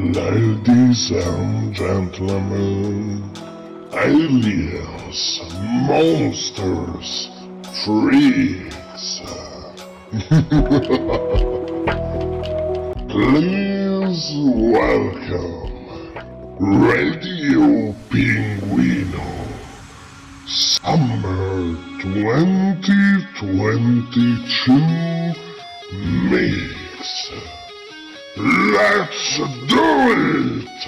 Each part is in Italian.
Ladies and gentlemen, aliens, monsters, freaks. Please welcome Radio Pinguino Summer 2022 Mix. Let's do it!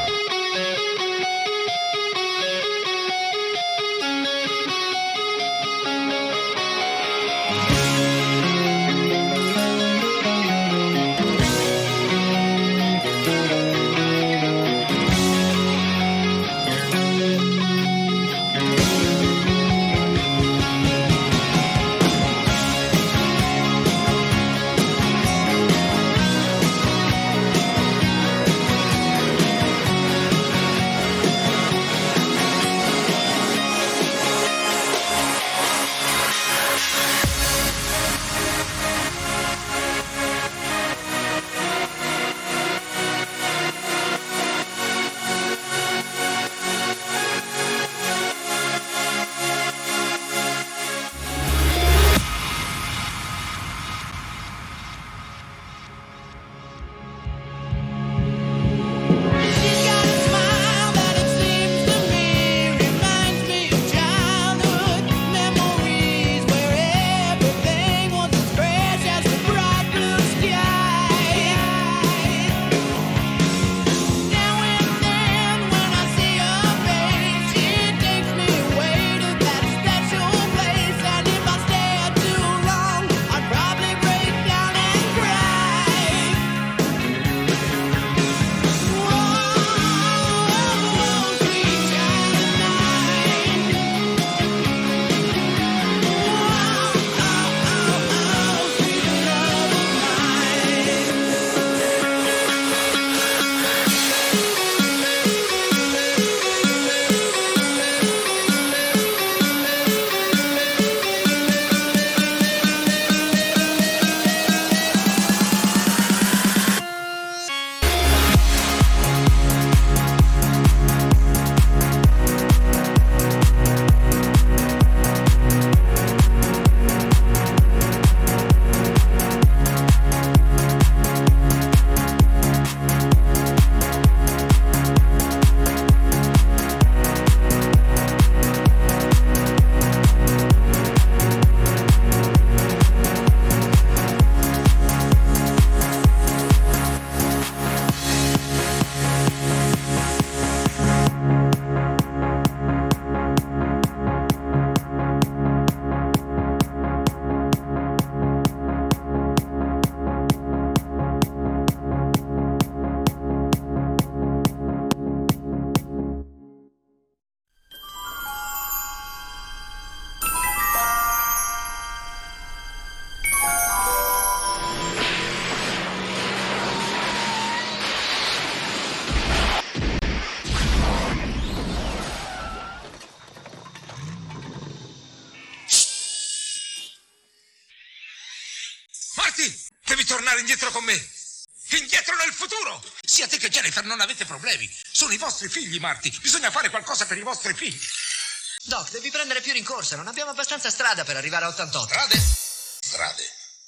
Devi tornare indietro con me. Indietro nel futuro. Sia te che Jennifer non avete problemi. Sono i vostri figli, Marty. Bisogna fare qualcosa per i vostri figli. Doc, devi prendere più rincorsa. Non abbiamo abbastanza strada per arrivare a 88. Strade.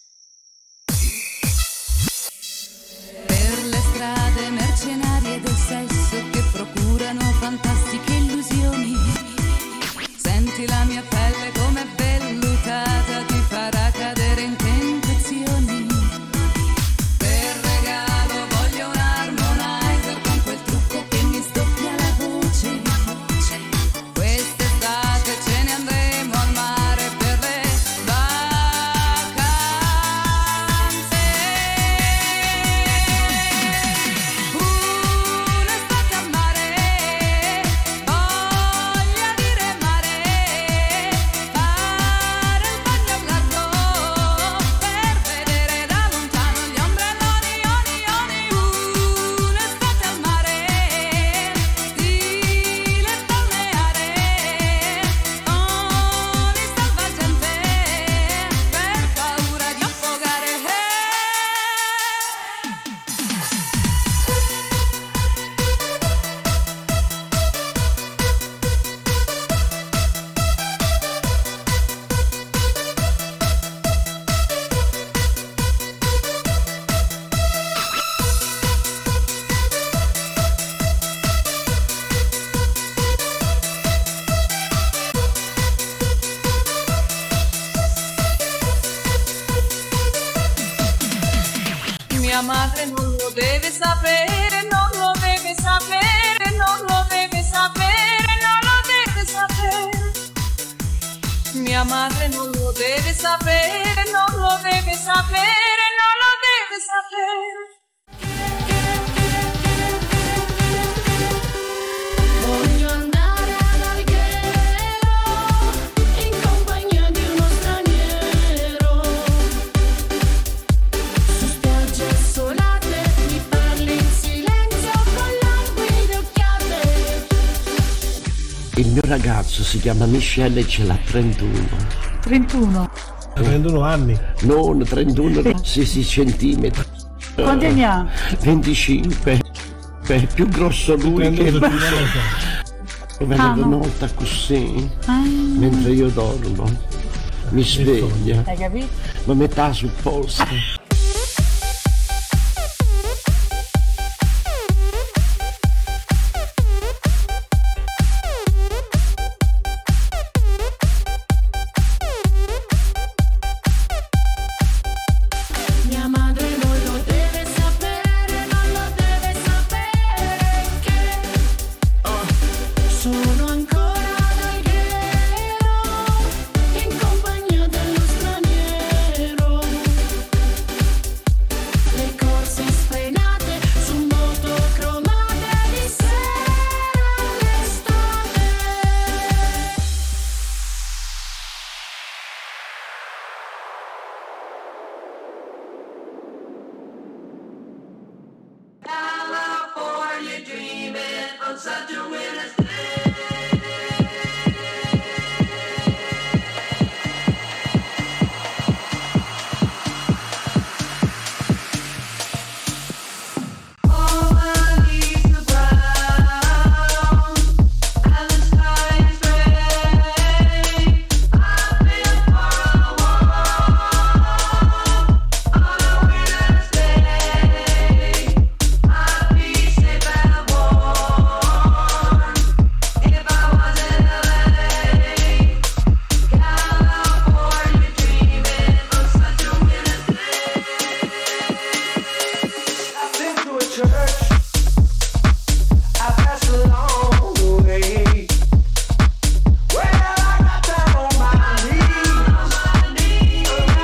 Per le strade mercenarie del sesso che procurano fantastiche illusioni. Senti la mia pelle come vellutata, ti farà cadere in tentazioni. Per regalo voglio un harmonizer con quel trucco che mi sdoppia la voce. Quest'estate ce ne andremo al mare per le vacanze. Mia madre non lo deve sapere, non lo deve sapere, non lo deve sapere, non lo deve sapere. Mia madre non lo deve sapere, non lo deve sapere, non lo deve sapere. Voglio andare ad Alghero in compagnia di uno straniero. Su spiagge assolate mi parli in silenzio con languide occhiate. Il mio ragazzo si chiama Michele e ce l'ha 31. 31. 31 anni. Non 31, sì, centimetri. Quanti anni ha? 25. Beh, più grosso lui che me. Vengo nota così, mentre io dormo. Mi sveglia. Hai capito? Ma metà sul posto. Mia madre non lo deve sapere, non lo deve sapere che sono ancora ad Alghero in compagnia dello straniero. Le corse sfrenate su moto cromate di sera all'estate. California dreaming on such a winter's day. All the leaves are brown and the sky is gray. I've been for a walk on a winter's day. I'd be safe and warm if I was in LA. California dreaming on such a winter's day. I've been to a church, I passed along the way. Well, I got down on my knees, and I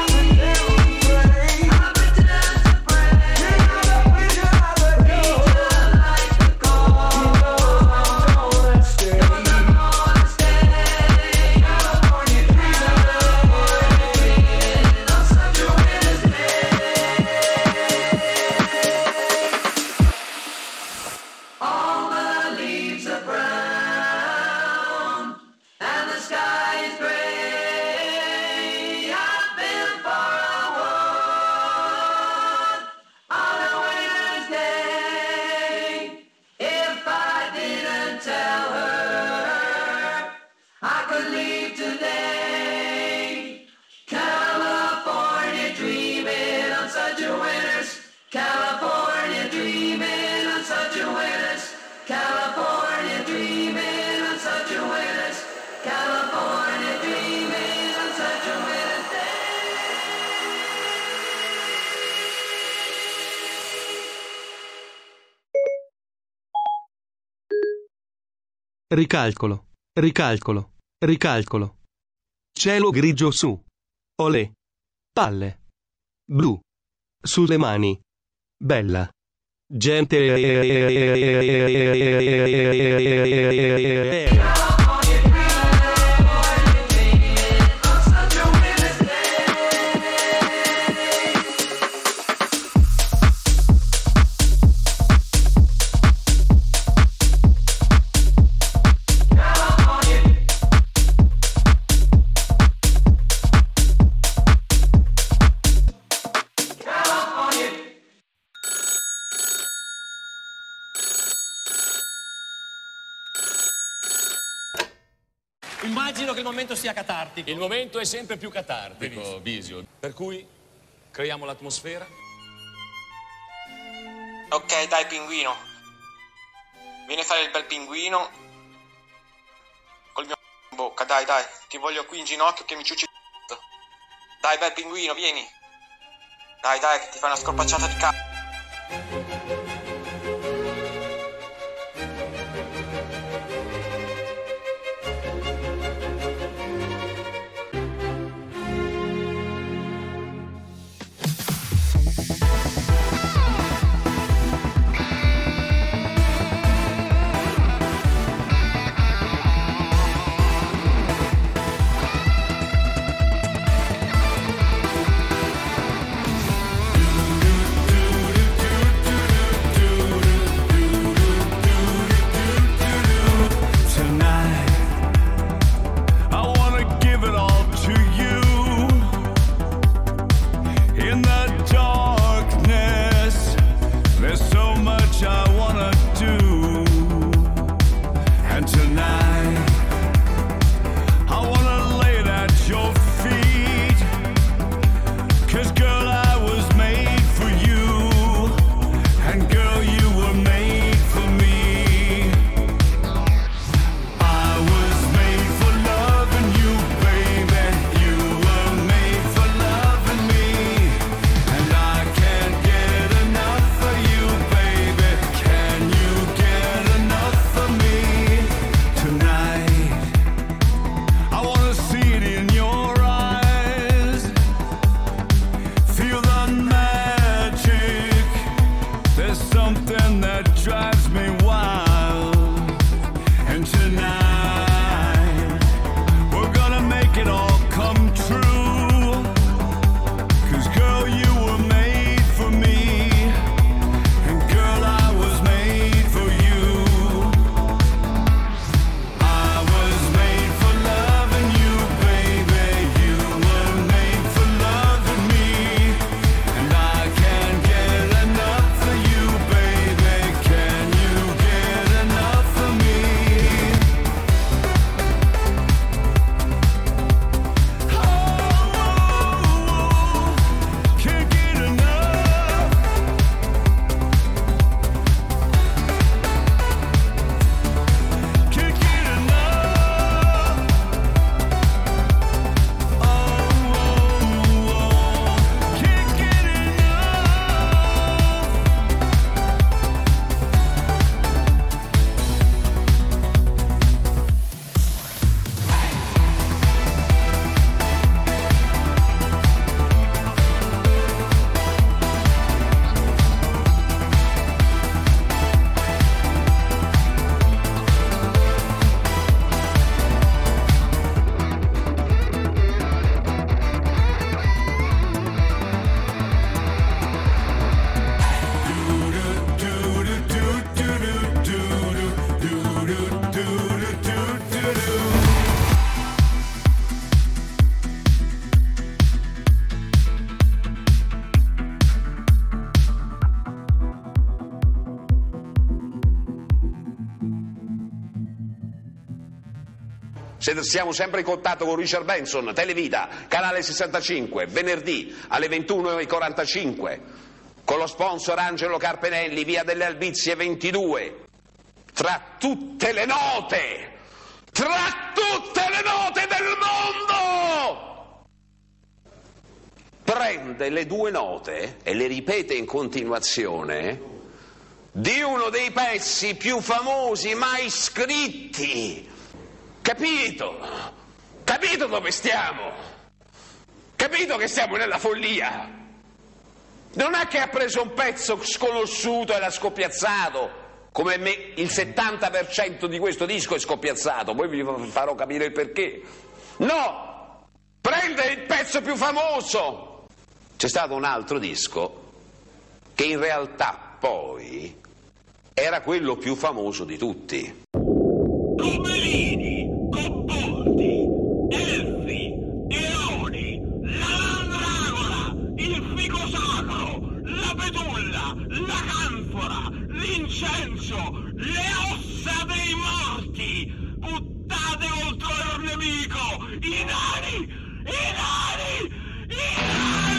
pretend to pray. You know the preacher like the gold, you know I'm gonna stay. California dreaming on such a winter's day. All the leaves are brown and the sky is gray. I've been for a walk on a winter's day. If I didn't tell her I could leave today. California dreaming on such a winter's. California dreaming on such a winter's. California dreaming on such a winter's. California dreaming on such a winter's day. Ricalcolo, ricalcolo, ricalcolo. Cielo grigio su. Olè. Palle. Blu. Sulle mani. Bella. Gente. Immagino che il momento sia catartico. Il momento è sempre più catartico, Bisio. Per cui creiamo l'atmosfera. Ok, dai, pinguino. Vieni a fare il bel pinguino. Col mio in bocca, dai, dai. Ti voglio qui in ginocchio che mi ciucci il c***o. Dai, bel pinguino, vieni. Dai, dai, che ti fai una scorpacciata di c***o. Siamo sempre in contatto con Richard Benson, Televita, canale 65, venerdì alle 21:45, con lo sponsor Angelo Carpenelli, via delle Albizie 22. Tra tutte le note del mondo, prende le 2 note e le ripete in continuazione di uno dei pezzi più famosi mai scritti. Capito? Capito dove stiamo? Capito che siamo nella follia? Non è che ha preso un pezzo sconosciuto e l'ha scoppiazzato, come me il 70% di questo disco è scoppiazzato, poi vi farò capire il perché. No! Prende il pezzo più famoso! C'è stato un altro disco che in realtà poi era quello più famoso di tutti. Comelini, Cobboldi, Elfi, Eoni, la Mandragola, il fico sacro, la betulla, la canfora, l'incenso, le ossa dei morti, buttate contro il nemico, i nani, i nani, i nani!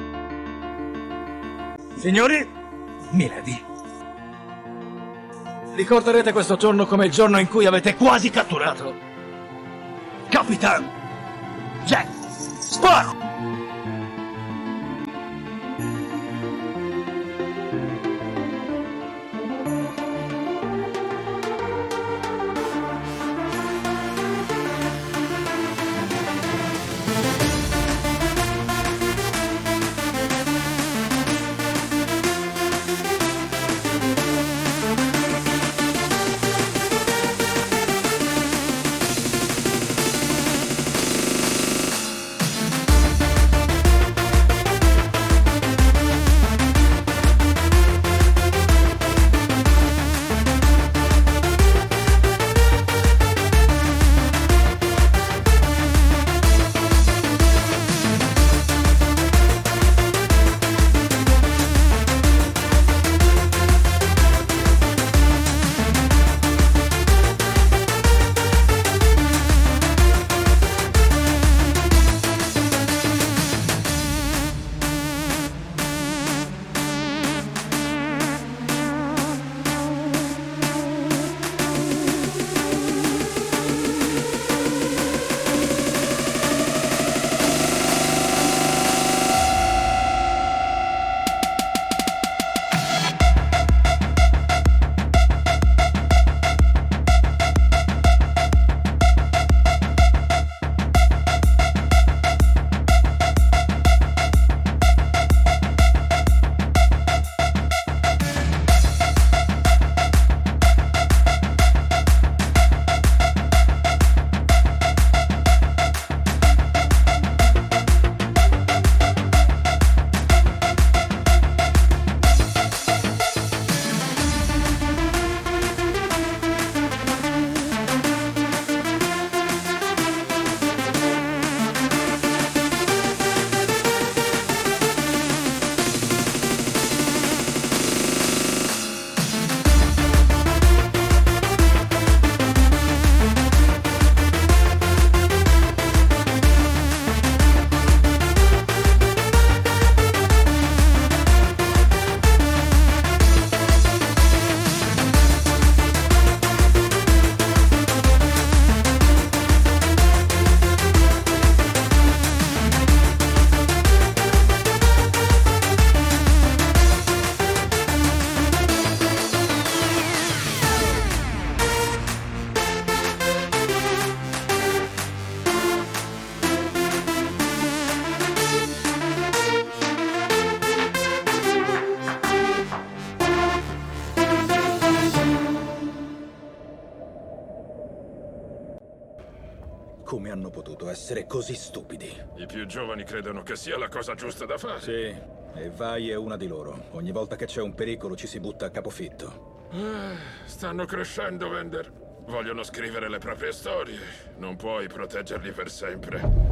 Signori, Milady. Ricorderete questo giorno come il giorno in cui avete quasi catturato Capitan Jack Sparrow. Come hanno potuto essere così stupidi? I più giovani credono che sia la cosa giusta da fare. Sì, e Vai è una di loro. Ogni volta che c'è un pericolo ci si butta a capofitto. Stanno crescendo, Vander. Vogliono scrivere le proprie storie. Non puoi proteggerli per sempre.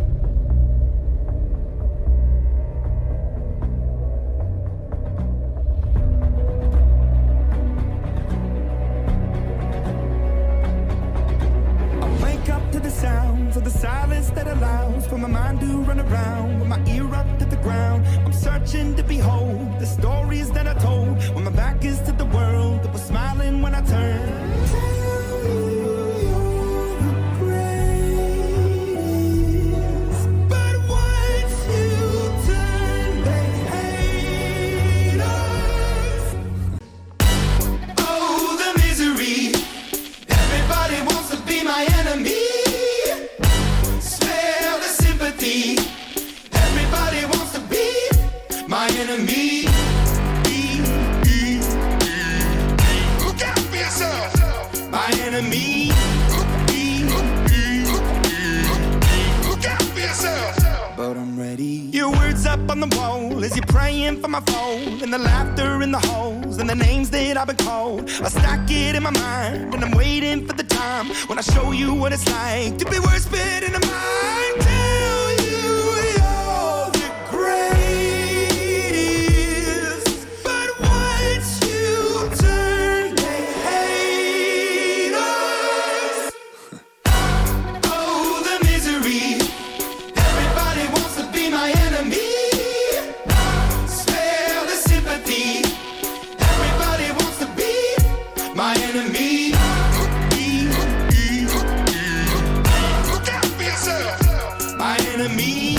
Sounds of the silence that allows for my mind to run around with my ear up to the ground. I'm searching to behold the stories that I told when my back is to the world that was smiling when I turned. On the wall as you're praying for my phone, and the laughter in the holes and the names that I've been called. I stack it in my mind and I'm waiting for the time when I show you what it's like to be worse fit in a mind. Tell you you're the greatest, but once you turn they hate us. Oh, the misery. Everybody wants to be my enemy. My enemy. enemy.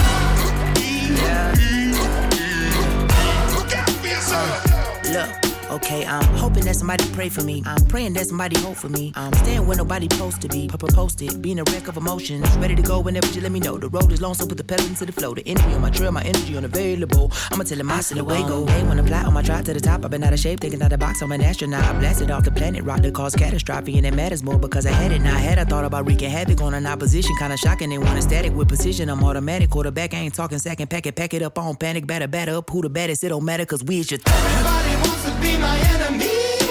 Look, okay, I'm hoping that somebody pray for me. I'm praying that somebody hope for me. I'm staying where nobody supposed to be. Posted, being a wreck of emotions. Ready to go whenever you let me know. The road is long, so put the pedal into the flow. The energy on my trail, my energy unavailable. I'ma tell him I still away go. Hey, when I fly on my drive to the top, I've been out of shape, thinking out the box. I'm an astronaut. I blasted off the planet, rock that caused catastrophe, and it matters more because I had it. Now I had, I thought about wreaking havoc on an opposition, kinda shocking. They want a static with precision. I'm automatic, quarterback. I ain't talking second packet, pack it up on panic, batter up. Who the baddest? It don't matter, cause we is your Everybody wants to be my enemy.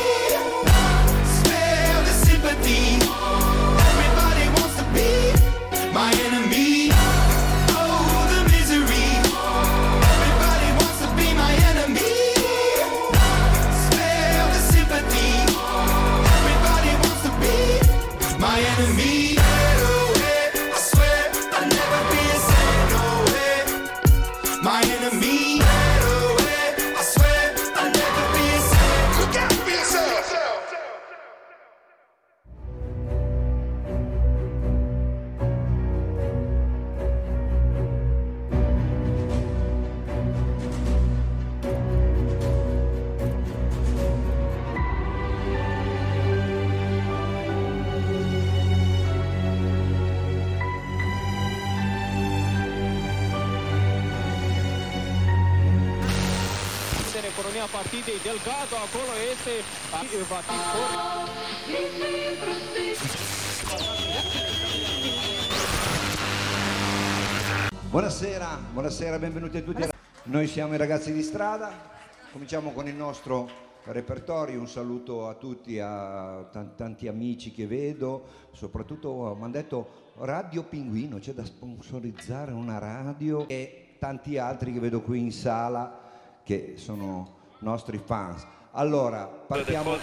Spare the sympathy. Everybody wants to be my enemy. Oh, the misery. Everybody wants to be my enemy. Spare the sympathy. Everybody wants to be my enemy. I swear I'll never be a saint, no way. My enemy. I swear I'll never be a saint. Look out for yourself. Economia partidei Delgado, acolo este va fi Buonasera, benvenuti a tutti. Noi siamo i ragazzi di strada, cominciamo con il nostro repertorio. Un saluto a tutti, a tanti amici che vedo, soprattutto mi hanno detto Radio Pinguino, c'è da sponsorizzare una radio, e tanti altri che vedo qui in sala che sono nostri fans. Allora, partiamo.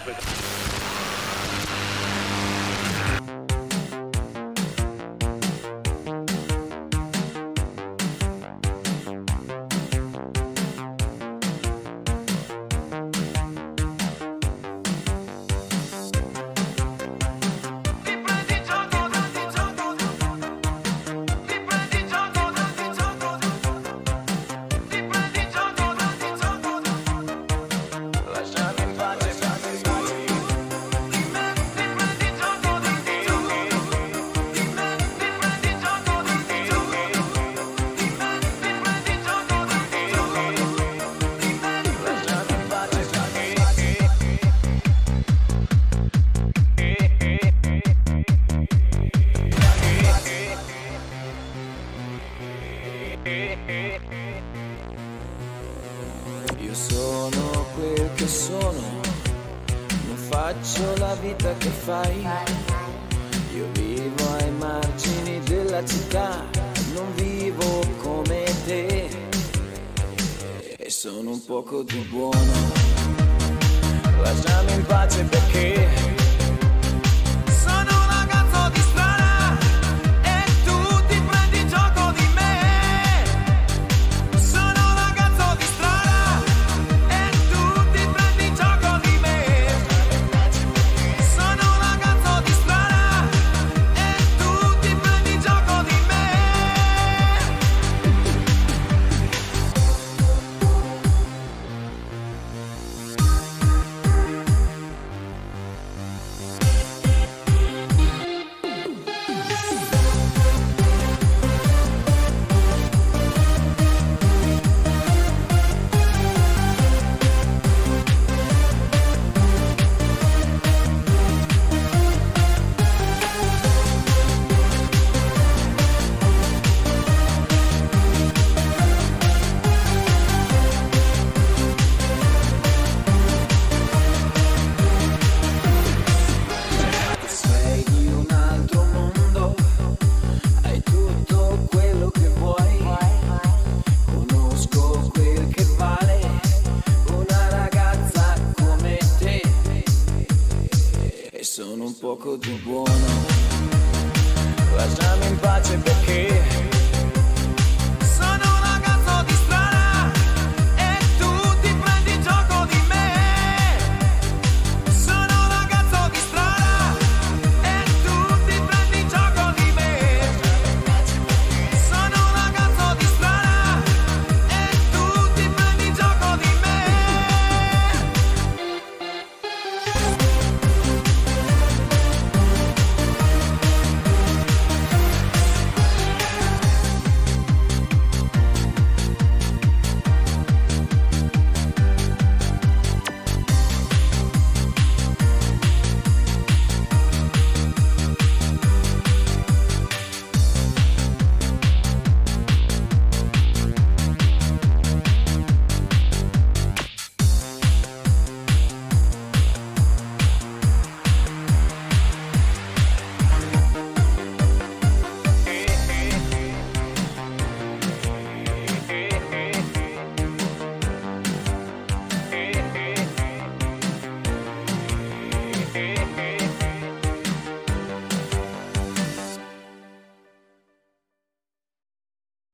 Io sono quel che sono, non faccio la vita che fai. Io vivo ai margini della città, non vivo come te. E sono un poco più buono, lasciami in pace perché sono un ragazzo di strada e tu ti prendi gioco di me. Sono un ragazzo di strada e tu ti prendi gioco di me. Sono un ragazzo di strada e tu ti prendi gioco di me. Sei di un altro mondo, hai tutto quello che vuoi. Conosco quel che vale una ragazza come te. E sono un poco più buono,